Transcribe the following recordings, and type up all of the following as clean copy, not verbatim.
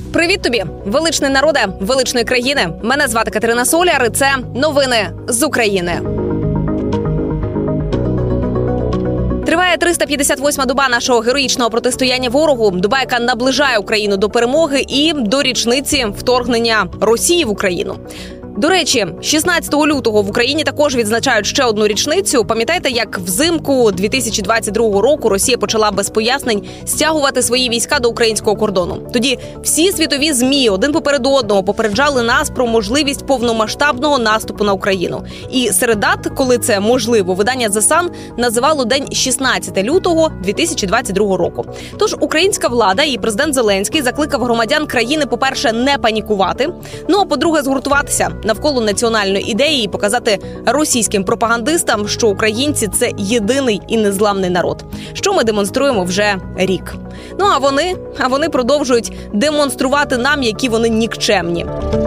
Привіт тобі, величний народе, величної країни. Мене звати Катерина Соляр, і це новини з України. Триває 358-ма доба нашого героїчного протистояння ворогу. Доба, яка наближає Україну до перемоги і до річниці вторгнення Росії в Україну. До речі, 16 лютого в Україні також відзначають ще одну річницю. Пам'ятаєте, як взимку 2022 року Росія почала без пояснень стягувати свої війська до українського кордону? Тоді всі світові ЗМІ один поперед одного попереджали нас про можливість повномасштабного наступу на Україну. І серед дат, коли це можливо, видання The Sun називало день 16 лютого 2022 року. Тож українська влада і президент Зеленський закликав громадян країни, по-перше, не панікувати, а по-друге, згуртуватися навколо національної ідеї і показати російським пропагандистам, що українці – це єдиний і незламний народ, що ми демонструємо вже рік. А вони продовжують демонструвати нам, які вони нікчемні.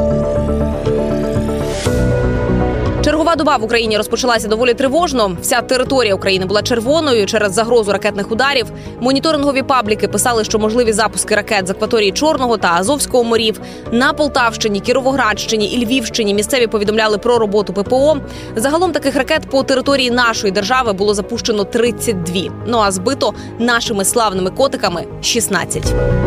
Чергова доба в Україні розпочалася доволі тривожно. Вся територія України була червоною через загрозу ракетних ударів. Моніторингові пабліки писали, що можливі запуски ракет з акваторії Чорного та Азовського морів. На Полтавщині, Кіровоградщині і Львівщині місцеві повідомляли про роботу ППО. Загалом таких ракет по території нашої держави було запущено 32. А збито нашими славними котиками – 16.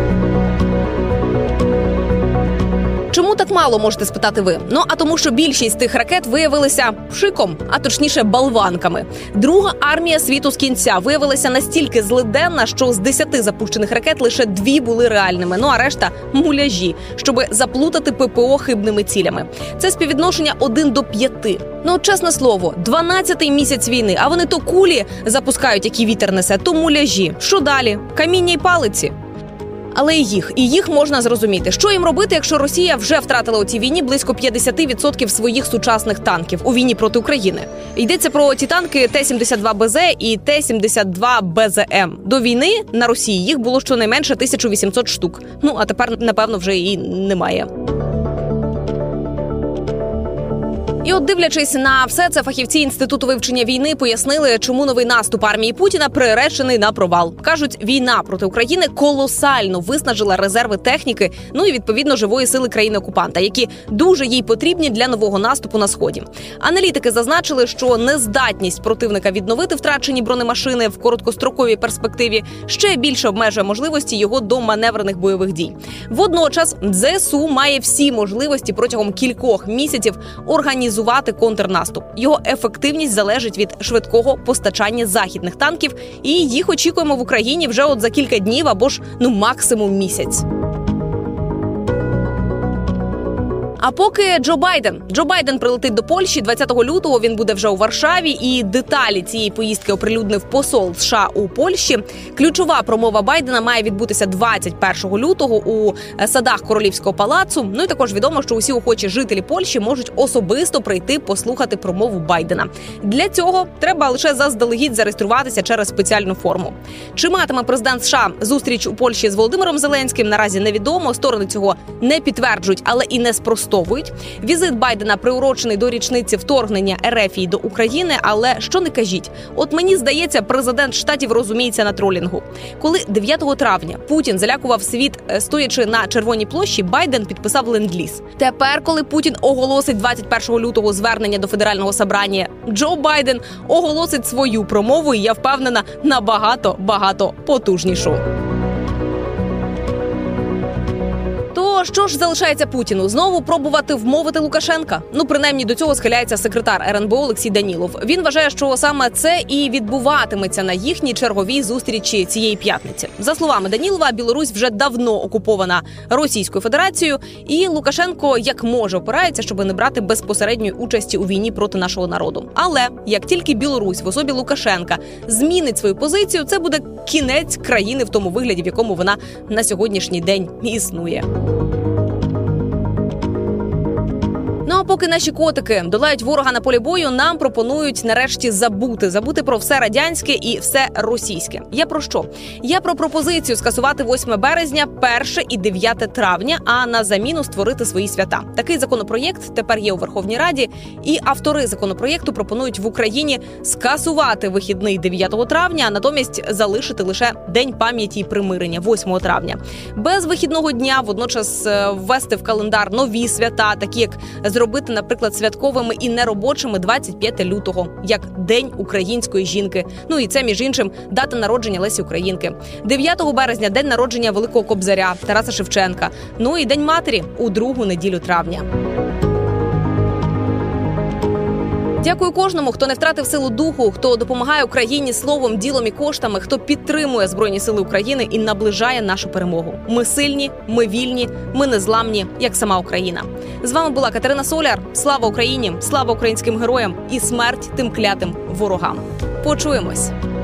Чому так мало, можете спитати ви? А тому, що більшість тих ракет виявилися пшиком, а точніше болванками. Друга армія світу з кінця виявилася настільки злиденна, що з 10 запущених ракет лише 2 були реальними, а решта – муляжі, щоби заплутати ППО хибними цілями. Це співвідношення 1 до 5. Чесне слово, 12-й місяць війни, а вони то кулі запускають, які вітер несе, то муляжі. Що далі? Каміння й палиці. Але і їх можна зрозуміти. Що їм робити, якщо Росія вже втратила у цій війні близько 50% своїх сучасних танків у війні проти України? Йдеться про ті танки Т-72БЗ і Т-72БЗМ. До війни на Росії їх було щонайменше 1800 штук. А тепер, напевно, вже і немає. І дивлячись на все це, фахівці Інституту вивчення війни пояснили, чому новий наступ армії Путіна приречений на провал. Кажуть, війна проти України колосально виснажила резерви техніки, і, відповідно, живої сили країни-окупанта, які дуже їй потрібні для нового наступу на Сході. Аналітики зазначили, що нездатність противника відновити втрачені бронемашини в короткостроковій перспективі ще більше обмежує можливості його до маневрених бойових дій. Водночас ЗСУ має всі можливості протягом кількох місяців організувати контрнаступ. Його ефективність залежить від швидкого постачання західних танків, і їх очікуємо в Україні вже за кілька днів або ж максимум місяць. А поки Джо Байден прилетить до Польщі 20 лютого, він буде вже у Варшаві, і деталі цієї поїздки оприлюднив посол США у Польщі. Ключова промова Байдена має відбутися 21 лютого у садах Королівського палацу. І також відомо, що усі охочі жителі Польщі можуть особисто прийти послухати промову Байдена. Для цього треба лише заздалегідь зареєструватися через спеціальну форму. Чи матиме президент США зустріч у Польщі з Володимиром Зеленським, наразі невідомо. Сторони цього не підтверджують, але і не спростовують. Візит Байдена приурочений до річниці вторгнення РФ до України, але що не кажіть. Мені здається, президент Штатів розуміється на тролінгу. Коли 9 травня Путін залякував світ, стоячи на Червоній площі, Байден підписав ленд-ліз. Тепер, коли Путін оголосить 21 лютого звернення до Федерального собрання, Джо Байден оголосить свою промову, і я впевнена, набагато потужнішу. То що ж залишається Путіну? Знову пробувати вмовити Лукашенка? Принаймні до цього схиляється секретар РНБО Олексій Данілов. Він вважає, що саме це і відбуватиметься на їхній черговій зустрічі цієї п'ятниці. За словами Данілова, Білорусь вже давно окупована Російською Федерацією, і Лукашенко як може опирається, щоб не брати безпосередньої участі у війні проти нашого народу. Але як тільки Білорусь в особі Лукашенка змінить свою позицію, це буде кінець країни в тому вигляді, в якому вона на сьогоднішній день існує. Ну а поки наші котики долають ворога на полі бою, нам пропонують нарешті забути про все радянське і все російське. Я про що? Я про пропозицію скасувати 8 березня, 1 і 9 травня, а на заміну створити свої свята. Такий законопроєкт тепер є у Верховній Раді, і автори законопроєкту пропонують в Україні скасувати вихідний 9 травня, а натомість залишити лише День пам'яті і примирення 8 травня. Без вихідного дня водночас ввести в календар нові свята, такі як зробити, наприклад, святковими і неробочими 25 лютого, як День української жінки. Ну і це, між іншим, дата народження Лесі Українки. 9 березня – день народження Великого Кобзаря, Тараса Шевченка. Ну і День матері у другу неділю травня. Дякую кожному, хто не втратив силу духу, хто допомагає Україні словом, ділом і коштами, хто підтримує Збройні Сили України і наближає нашу перемогу. Ми сильні, ми вільні, ми незламні, як сама Україна. З вами була Катерина Соляр. Слава Україні, слава українським героям і смерть тим клятим ворогам. Почуємось!